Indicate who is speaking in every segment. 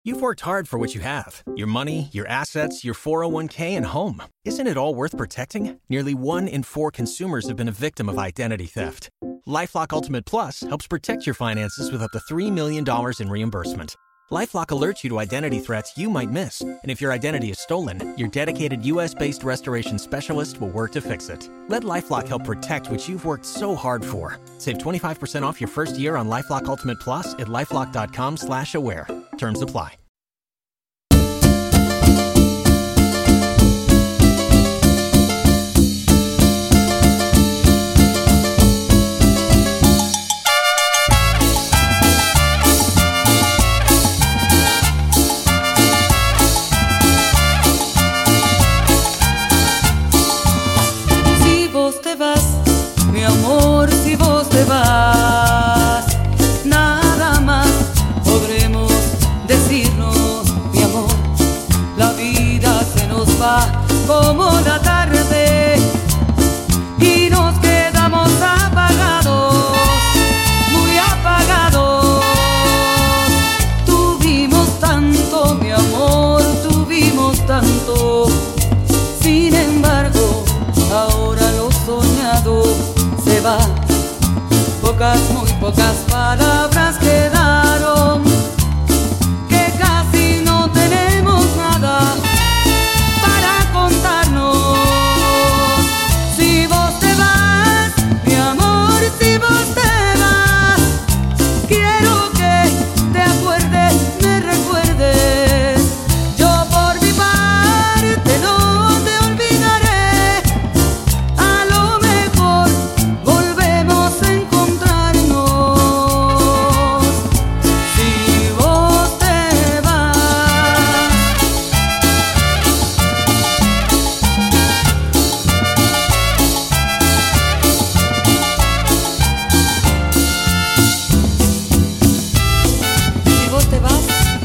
Speaker 1: You've worked hard for what you have. Your money, your assets, your 401k, and home. Isn't it all worth protecting? Nearly 1 in 4 consumers have been a victim of identity theft. LifeLock Ultimate Plus helps protect your finances with up to $3 million in reimbursement. LifeLock alerts you to identity threats you might miss. And if your identity is stolen, your dedicated U.S.-based restoration specialist will work to fix it. Let LifeLock help protect what you've worked so hard for. Save 25% off your first year on LifeLock Ultimate Plus at LifeLock.com/aware. Terms apply.
Speaker 2: Mi amor, si vos te vas, nada más podremos decirnos, mi amor. La vida se nos va como la tarde y nos quedamos apagados, muy apagados. Tuvimos tanto, mi amor, tuvimos tanto. Sin embargo, ahora lo soñado se va. Pocas, muy pocas palabras quedaron, que casi no tenemos nada para contarnos. Si vos te vas, mi amor, si vos te vas, quiero que te acuerdes, me recuerdes. Yo por mi parte no te olvidaré. A lo mejor volvemos a encontrarnos. Si vos te vas. Si vos te vas,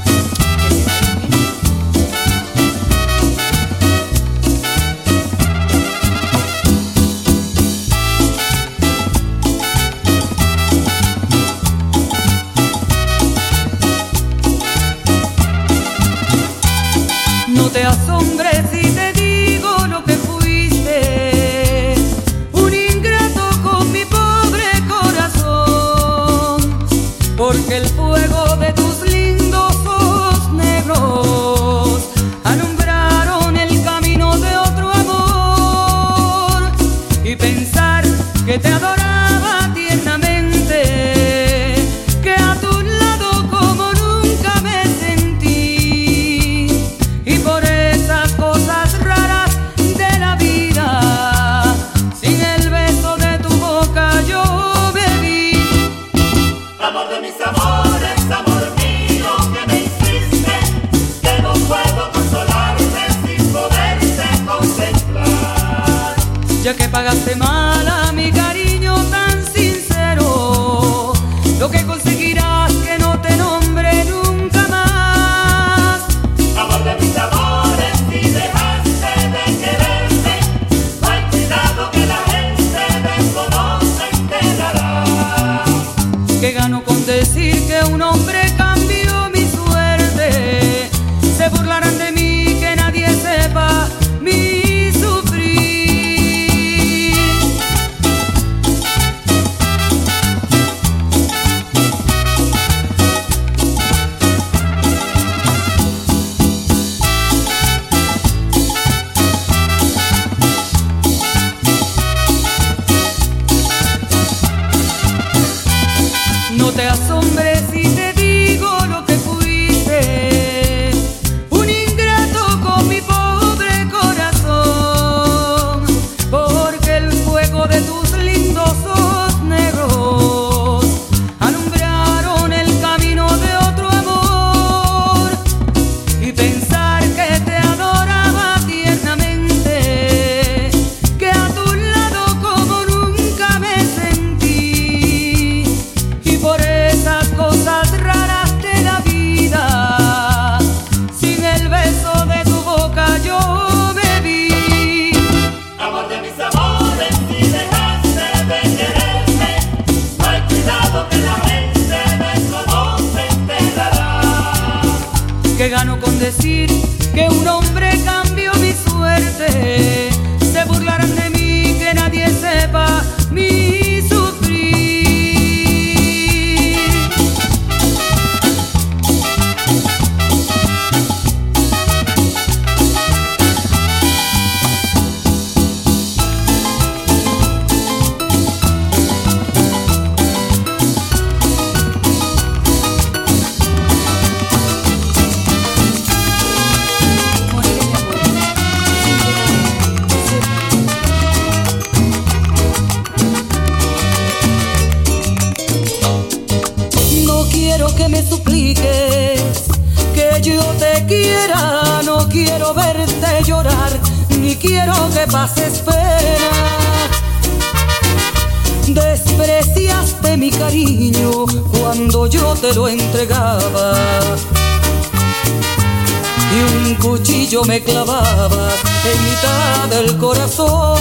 Speaker 2: no te asombres si te digo lo que fuiste, un ingrato con mi pobre corazón, porque el fuego de tus lindos ojos negros alumbraron el camino de otro amor, y pensar que te adoraba tiernamente, que a tu lado como nunca me sentí, y por esas cosas raras de la vida, sin el beso de tu boca yo bebí.
Speaker 3: Amor de mis amores, amor mío, que me hiciste, que no puedo consolarte sin poderte contemplar.
Speaker 2: Ya que pagaste mal a mi cariño tan sincero, lo que conseguirás que no te nombre nunca más.
Speaker 3: Amor de mis amores, si dejaste de quererme, hay cuidado que la gente de eso no se enterará.
Speaker 2: Que gano con decir que un hombre cambió mi suerte, se burlarán de mí, que nadie sepa mi sufrir. ¿Qué gano con decir que un hombre cambió mi suerte? Se burlarán de mí, que nadie sepa mi sufrir. Que me supliques que yo te quiera, no quiero verte llorar, ni quiero que pases pena. Despreciaste mi cariño cuando yo te lo entregaba, y un cuchillo me clavabas en mitad del corazón.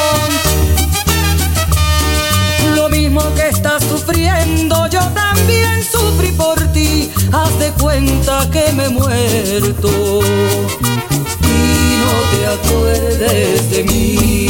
Speaker 2: Lo mismo que estás sufriendo, yo también sufrí por ti. Haz de cuenta que me he muerto y no te acuerdes de mí.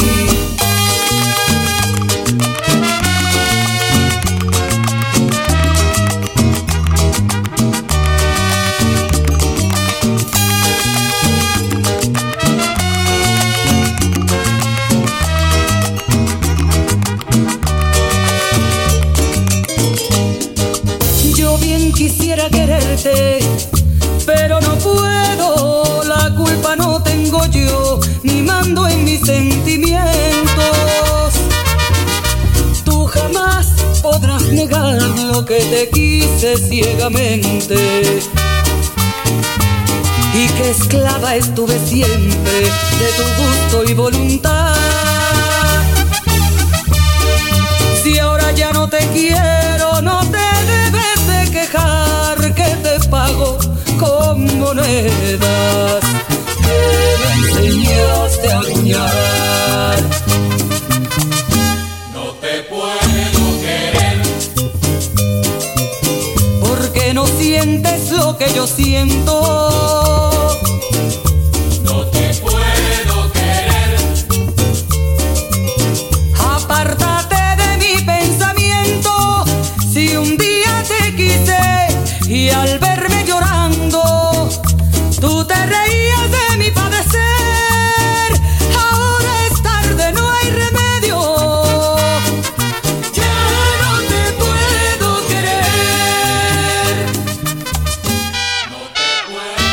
Speaker 2: Quisiera quererte, pero no puedo, la culpa no tengo yo, ni mando en mis sentimientos. Tú jamás podrás negar lo que te quise ciegamente, y que esclava estuve siempre de tu gusto y voluntad. Si ahora ya no te quiero, no te debes de quejar, que te pago con monedas que me enseñaste a acuñar.
Speaker 3: No te puedo querer
Speaker 2: porque no sientes lo que yo siento.
Speaker 3: No te puedo querer.
Speaker 2: Apártate de mi pensamiento. Si un día te quise y al verme llorando tú te reías de mi padecer, ahora es tarde, no hay remedio. Ya no te puedo querer.
Speaker 3: No te puedo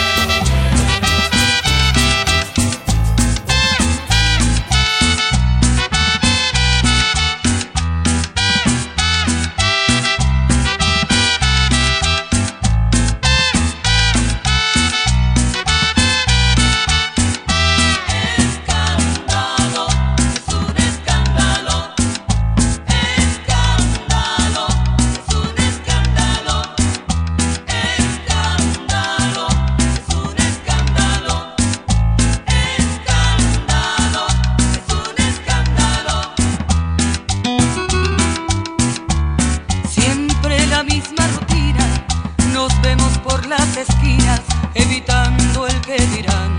Speaker 2: esquinas, evitando el que dirán.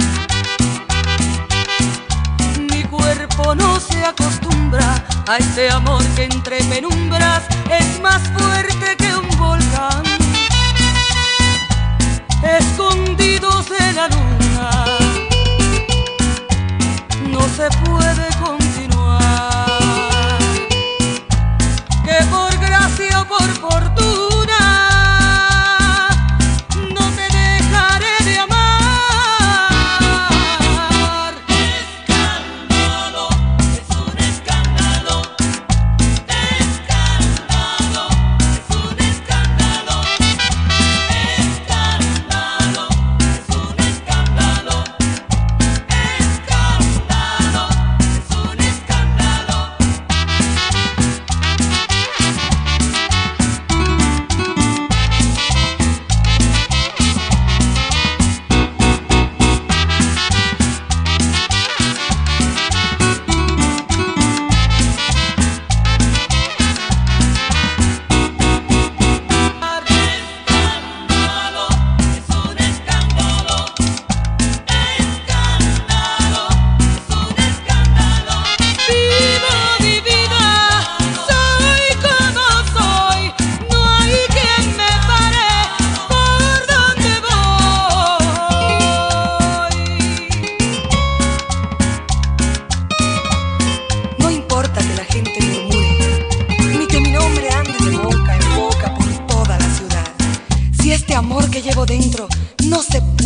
Speaker 2: Mi cuerpo no se acostumbra a este amor que entre penumbras es más fuerte que un volcán. Escondidos en la luna, no se puede continuar. Que por gracia o por fortuna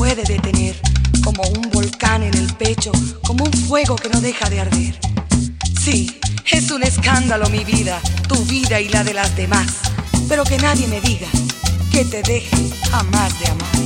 Speaker 2: puede detener, como un volcán en el pecho, como un fuego que no deja de arder. Sí, es un escándalo mi vida, tu vida y la de las demás, pero que nadie me diga que te deje jamás de amar.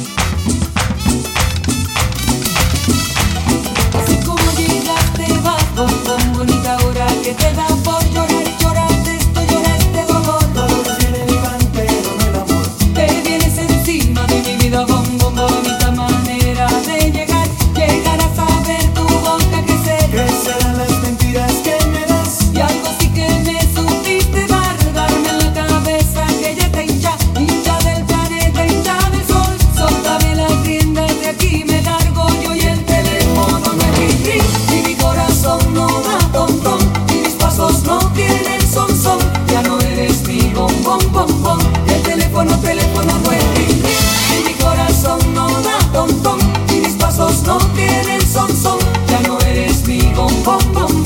Speaker 2: Así como llegaste vas, con bonita hora que te da por llorar, lloraste esto, lloraste dolor, dolor tiene mi cantero del amor. Te vienes encima de mi vida, bonita manera de llegar, llegar a saber tu boca que serán las mentiras que me das, y algo sí que me supiste dar, darme en la cabeza que ya te hincha del planeta, hincha del sol, soltame las riendas de aquí, me largo yo y el teléfono no es ring, y mi corazón no da tontón, y mis pasos no tienen son, ya no eres mi bombón, y el teléfono no es ring, y mi corazón no da tontón, y mis pasos no tienen son, ya no eres mi bombón.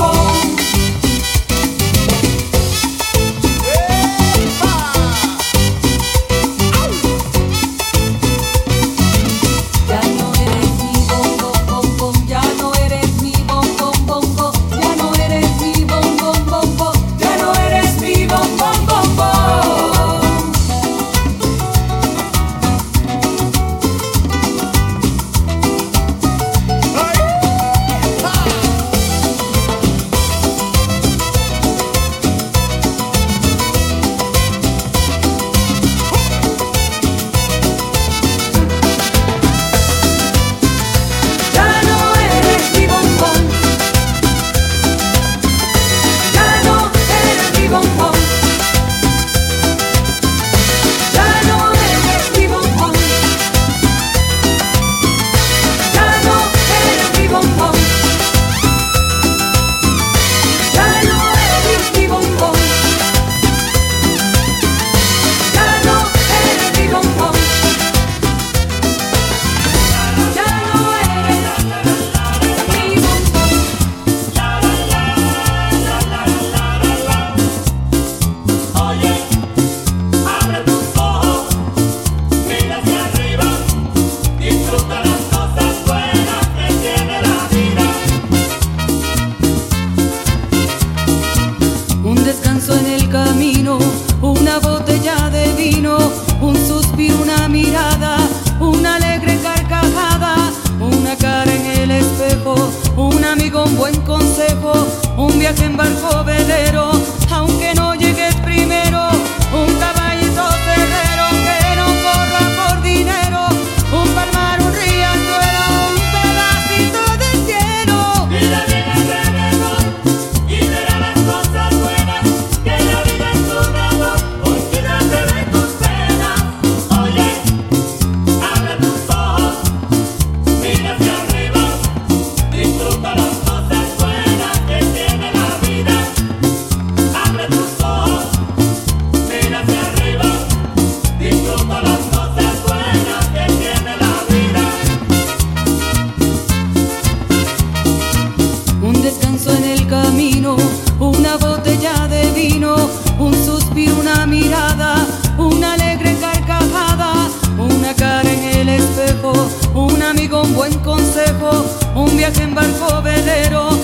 Speaker 2: Un buen consejo, un viaje en barco velero, aunque no llegues primero, un caballito cerrero que no corra por dinero, un palmar, un riachuelo, un pedacito de cielo.
Speaker 3: Mira bien alrededor y verás las cosas buenas, que la vida es un amor, olvídate de tus penas. Oye, abre tus ojos, mira hacia arriba, disfruta las cosas buenas que tiene la vida. Abre tus ojos, mira hacia arriba, disfruta las cosas buenas que tiene la vida.
Speaker 2: Un descanso en el camino, una botella de vino, un suspiro, una mirada, una alegre carcajada, una cara en el espejo, un amigo, un buen consejo, un viaje en barco velero,